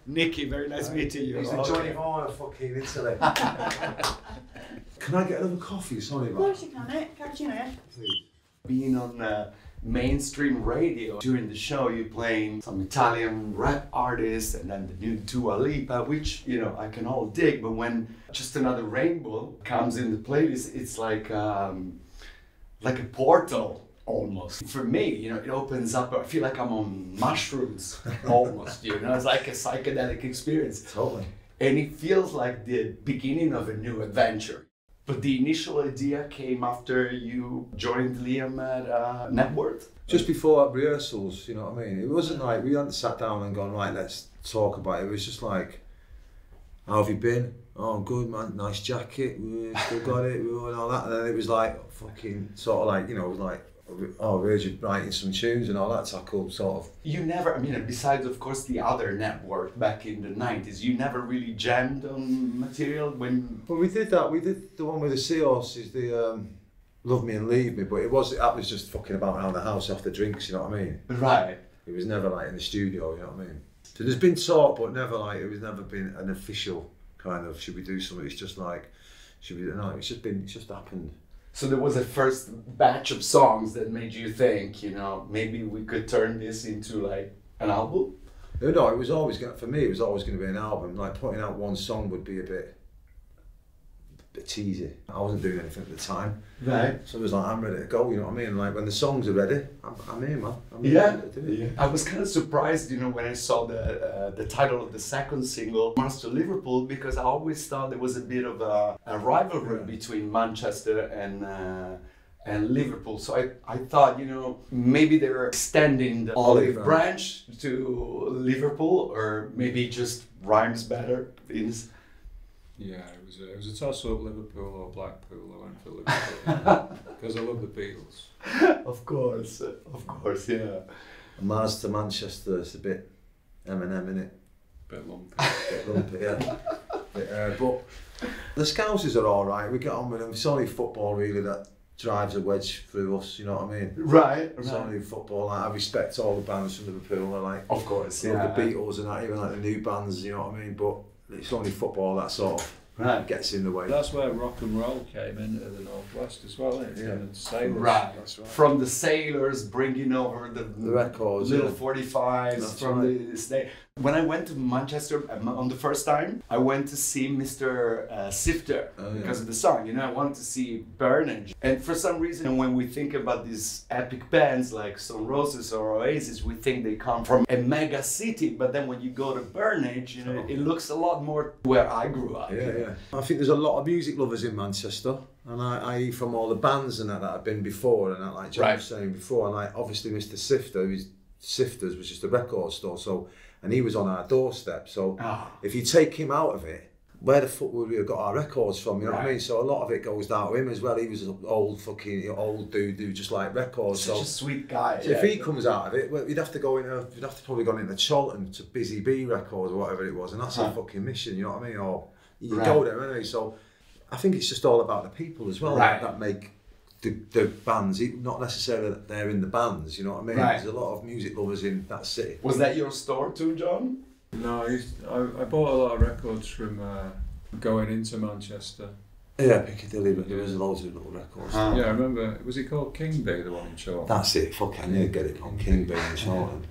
Nicky, very nice meeting you. He's the Johnny Vaughan of fucking Italy. Can I get another coffee? Sorry about that. Of course you can, mate. Cappuccino. Please. Being on mainstream radio during the show, you're playing some Italian rap artists and then the new Dua Lipa, which, you know, I can all dig, but when Just Another Rainbow comes in the playlist, it's like a portal almost. For me, you know, it opens up, I feel like I'm on mushrooms almost, you know, it's like a psychedelic experience. Totally. And it feels like the beginning of a new adventure. But the initial idea came after you joined Liam at Network? Just before rehearsals, you know what I mean? It wasn't like, we hadn't sat down and gone, right, let's talk about it. It was just like, how have you been? Oh, I'm good, man. Nice jacket. We still got it. And all that. And then it was like, fucking, sort of like, you know, it was like, oh, we're just writing some tunes and all that tackle, sort of. You never, I mean, besides, of course, the other Network back in the 90s, you never really jammed on material when... Well, we did that. We did the one with the seahorses, the Love Me and Leave Me, but that was just fucking about around the house after drinks, you know what I mean? Right. It was never like in the studio, you know what I mean? So there's been talk, but never like, it was never been an official kind of, should we do something? It's just like, should we, no, it's just happened. So there was a first batch of songs that made you think, you know, maybe we could turn this into like an album? No, it was always going to, for me, it was always going to be an album. Like putting out one song would be a bit cheesy. I wasn't doing anything at the time. Right. So it was like, I'm ready to go, you know what I mean? Like when the songs are ready, I'm here, man. I'm Yeah. ready to do it. Yeah. I was kind of surprised, you know, when I saw the title of the second single, Master Liverpool, because I always thought there was a bit of a rivalry between Manchester and Liverpool. So I thought, you know, maybe they were extending the olive branch to Liverpool, or maybe just rhymes better. Yeah, it was a toss-up, Liverpool or Blackpool. I went for Liverpool because I love the Beatles. Of course, yeah. And Mars to Manchester, it's a bit Eminem, innit? Bit lumpy. Bit lumpy, yeah. But the Scousers are all right. We get on with them. It's only football really that drives a wedge through us. You know what I mean? Right. It's only football. Like, I respect all the bands from Liverpool. I like, of course, yeah. The Beatles and that, even like the new bands. You know what I mean? But it's only football that sort of gets in the way. That's where rock and roll came into the Northwest as well, isn't it? Yeah. And Sailors. Right. That's right. From the Sailors bringing over the records, little yeah. 45s That's from right. the state. When I went to Manchester on the first time, I went to see Mr. Sifter because of the song. You know, I wanted to see Burnage. And for some reason, when we think about these epic bands like Stone Roses or Oasis, we think they come from a mega city. But then when you go to Burnage, you know, it looks a lot more where I grew up. Yeah, yeah. I think there's a lot of music lovers in Manchester. And I from all the bands and that I've been before, and that, like John was saying before, and like obviously Mr. Sifter, Sifters was just a record store, so, and he was on our doorstep, so if you take him out of it, where the fuck would we have got our records from, you know what I mean? So a lot of it goes down to him as well. He was an old dude who just liked records. Such a sweet guy. So if he comes out of it, well, you'd have to probably go into Charlton to Busy Bee Records or whatever it was, and that's a fucking mission, you know what I mean? Or you go there anyway, so I think it's just all about the people as well that make the bands, not necessarily that they're in the bands, you know what I mean? There's a lot of music lovers in that city. Was that your store too, John? No, I bought a lot of records from going into Manchester. Yeah, Piccadilly, but there was loads of little records. Yeah, I remember, was it called King Bee, the one in Charlton? That's it, fuck, I need to get it on King Bee in Charlton.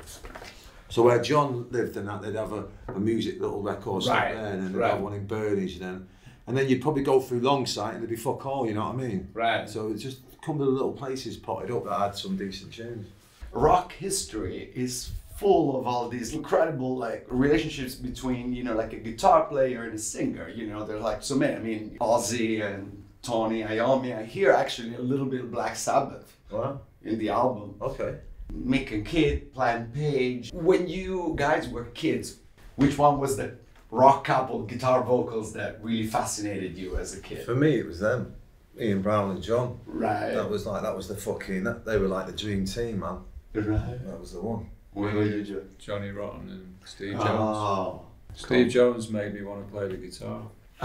So where John lived and that, they'd have a music little record store there, and then they'd have one in Burnage then. And then you'd probably go through Longsight and there'd be fuck all, you know what I mean? Right. So it just come to the little places potted up that had some decent tunes. Rock history is full of all these incredible like relationships between, you know, like a guitar player and a singer. You know, there's like so many. I mean, Ozzy and Tony Iommi. I hear actually a little bit of Black Sabbath in the album. Okay. Mick and Kid, Plan Page. When you guys were kids, which one was the rock couple guitar vocals that really fascinated you as a kid? For me, it was them, Ian Brown and John. Right. That was the fucking, they were like the dream team, man. Right. That was the one. What were you, Joe? Johnny Rotten and Steve Jones. Steve Jones made me want to play the guitar.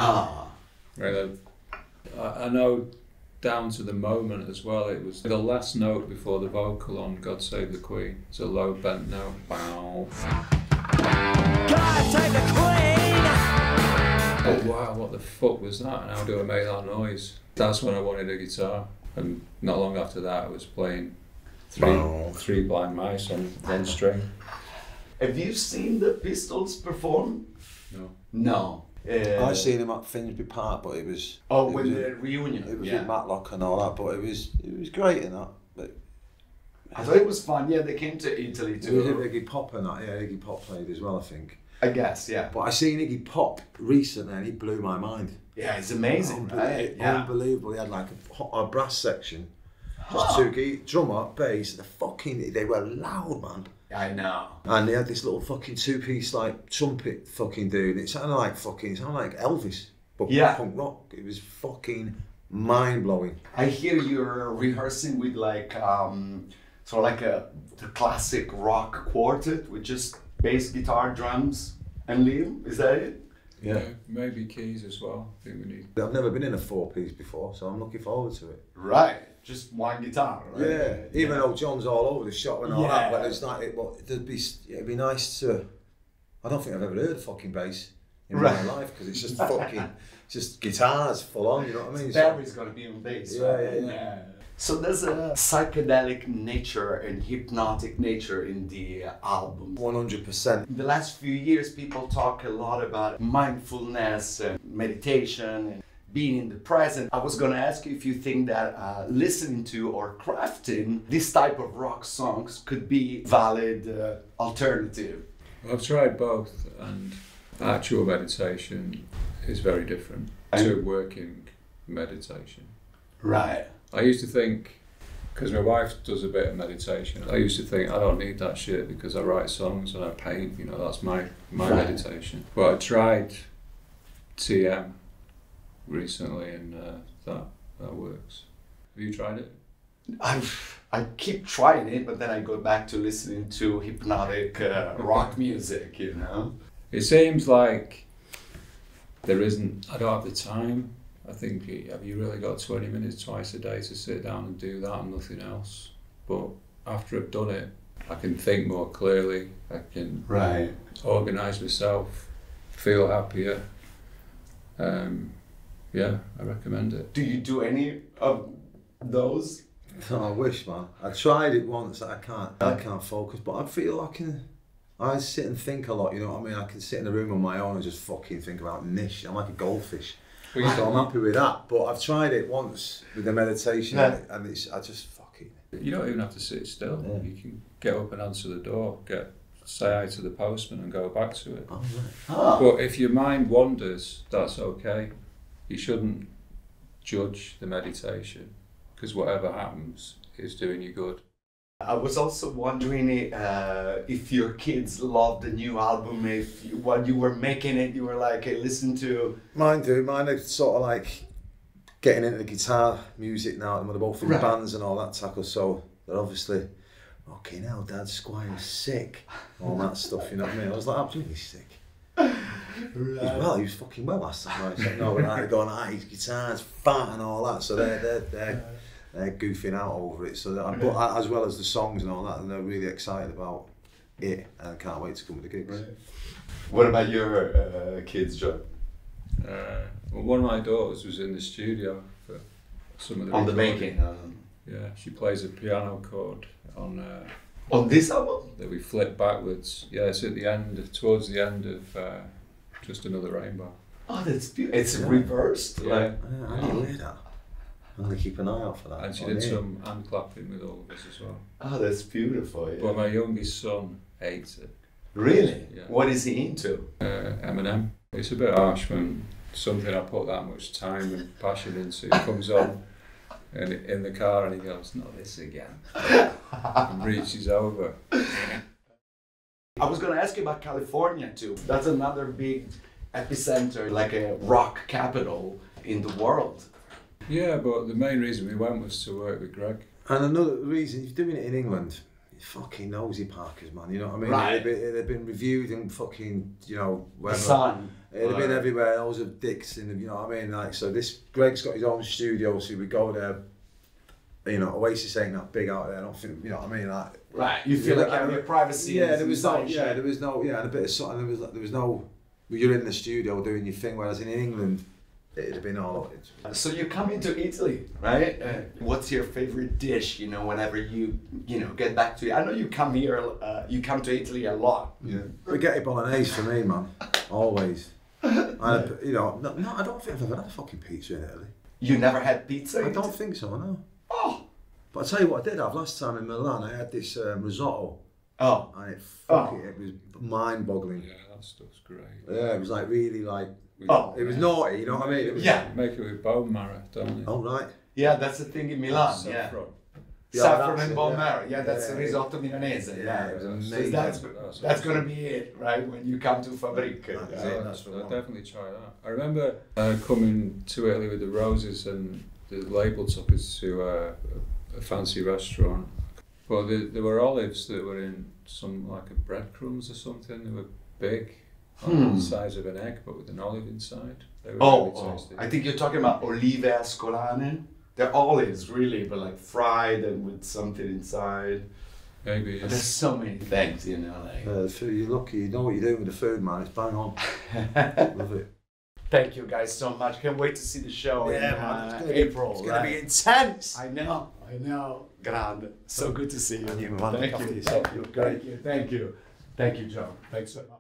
Really, I know down to the moment as well, it was the last note before the vocal on God Save the Queen. It's a low bent note. Bow. God save the wow, what the fuck was that? And how do I make that noise? That's when I wanted a guitar. And not long after that, I was playing three Blind Mice on one string. Have you seen the Pistols perform? No. No. I've seen him at Finsbury Park, but it was... Oh, when the reunion. It was with Matlock and all that, but it was great in that. But I thought it was fun. Yeah, they came to Italy too. It was Iggy Pop and that. Yeah, Iggy Pop played as well, I think. I guess, yeah. But I seen Iggy Pop recently and he blew my mind. Yeah, it's amazing, right? Yeah. Unbelievable. He had like a brass section, just two drummer, bass. They were loud, man. I know. And they had this little fucking two-piece like trumpet fucking dude. It sounded like Elvis, but punk rock. It was fucking mind-blowing. I hear you're rehearsing with like sort of like the classic rock quartet with just bass, guitar, drums, and Liam. Is that it? Yeah, maybe keys as well. I think we need. I've never been in a four-piece before, so I'm looking forward to it. Right, just one guitar, right? Yeah, even though John's all over the shop and all that, but it's like it'd be nice to. I don't think I've ever heard of fucking bass in my life because it's just fucking, just guitars full on. You know what I mean? Barry's got to be on bass. Yeah. So there's a psychedelic nature and hypnotic nature in the album. 100%. In the last few years, people talk a lot about mindfulness and meditation and being in the present. I was going to ask you if you think that listening to or crafting this type of rock songs could be valid alternative. I've tried both, and actual meditation is very different to working meditation. Right. I used to think, because my wife does a bit of meditation, I used to think I don't need that shit because I write songs and I paint, that's my meditation. But I tried TM recently and that works. Have you tried it? I keep trying it, but then I go back to listening to hypnotic rock music, It seems like I don't have the time. I think, have you really got 20 minutes twice a day to sit down and do that and nothing else? But after I've done it, I can think more clearly, I can organise myself, feel happier. Yeah, I recommend it. Do you do any of those? Oh, I wish, man. I tried it once. I can't focus, but I feel I sit and think a lot. You know what I mean? I can sit in a room on my own and just fucking think about niche. I'm like a goldfish. So I'm happy with that. But I've tried it once with the meditation, and I just fucking. You don't even have to sit still. Yeah. You can get up and answer the door, say hi to the postman, and go back to it. Oh, right. But if your mind wanders, that's okay. You shouldn't judge the meditation, because whatever happens is doing you good. I was also wondering if your kids loved the new album, while you were making it, you were like, hey, listen to... Mine do. Mine are sort of like getting into the guitar music now, and they're both in bands and all that tackle, so they're obviously, okay, now Dad Squire's sick, all that stuff, you know what I mean? I was like, absolutely sick. He was fucking well last time. Like, no, they're going, his guitar's fat and all that, so they're goofing out over it. So but as well as the songs and all that, and they're really excited about it, and I can't wait to come to the gigs. Right. What about your kids, John? Well, one of my daughters was in the studio for some of the on the making. Yeah, she plays a piano chord on this album that we flip backwards. Yeah, it's at the end, towards the end of Just Another Rainbow. Oh, that's beautiful. It's reversed. Yeah, I didn't hear that. I'm going to keep an eye out for that. And she did some hand clapping with all of us as well. Oh, that's beautiful. Yeah. But my youngest son hates it. Really? Yeah. What is he into? Eminem. It's a bit harsh when something I put that much time and passion into comes on and in the car and he goes, not this again. And reaches over. I was going to ask you about California too. That's another big epicenter, like a rock capital in the world. Yeah, but the main reason we went was to work with Greg. And another reason, if you're doing it in England, you fucking nosy Parkers, man, you know what I mean? Right. They've been reviewed in fucking, wherever. The Sun. They've been everywhere, those of dicks, and you know what I mean? Like, so Greg's got his own studio, so we go there, Oasis ain't that big out there, I don't think, you know what I mean? Like, right, you feel like you have your privacy. Yeah, there was no, and a bit of something, there was no you're in the studio doing your thing, whereas in England, it'd have been all. So you come into Italy, right? What's your favorite dish? You know, whenever you get back to it. I know you come here. You come to Italy a lot. Yeah. Spaghetti bolognese for me, man. Always. And, you know, no, I don't think I've ever had a fucking pizza in Italy. You never had pizza? I don't think so, no. Oh. But I'll tell you what I did have last time in Milan. I had this risotto. Oh. And it was mind-boggling. Yeah, that stuff's great. Yeah, it was like really like. Oh. It was naughty, you know what I mean? Yeah. Make it with bone marrow, don't you? Oh, right. Yeah, that's the thing in Milan. Saffron. Yeah. Saffron and bone marrow. Yeah, that's the risotto milanese. Yeah, it was amazing. That's going to be it, right? When you come to Fabric. I'll definitely try that. I remember coming to Italy with the Roses, and the label took us to a fancy restaurant. But there were olives that were in some like a breadcrumbs or something. They were big, the size of an egg, but with an olive inside. They were really tasty. I think you're talking about olive ascolane. They're olives, really, but like fried and with something inside. Maybe. But there's so many things, you know. Like. You're lucky. You know what you're doing with the food, man. It's bang on. Love it. Thank you guys so much. Can't wait to see the show in April. It's going to be intense. I know. Grande. So good to see you. Thank you, man. Thank you. Thank you. Thank you. Thank you, John. Thanks so much.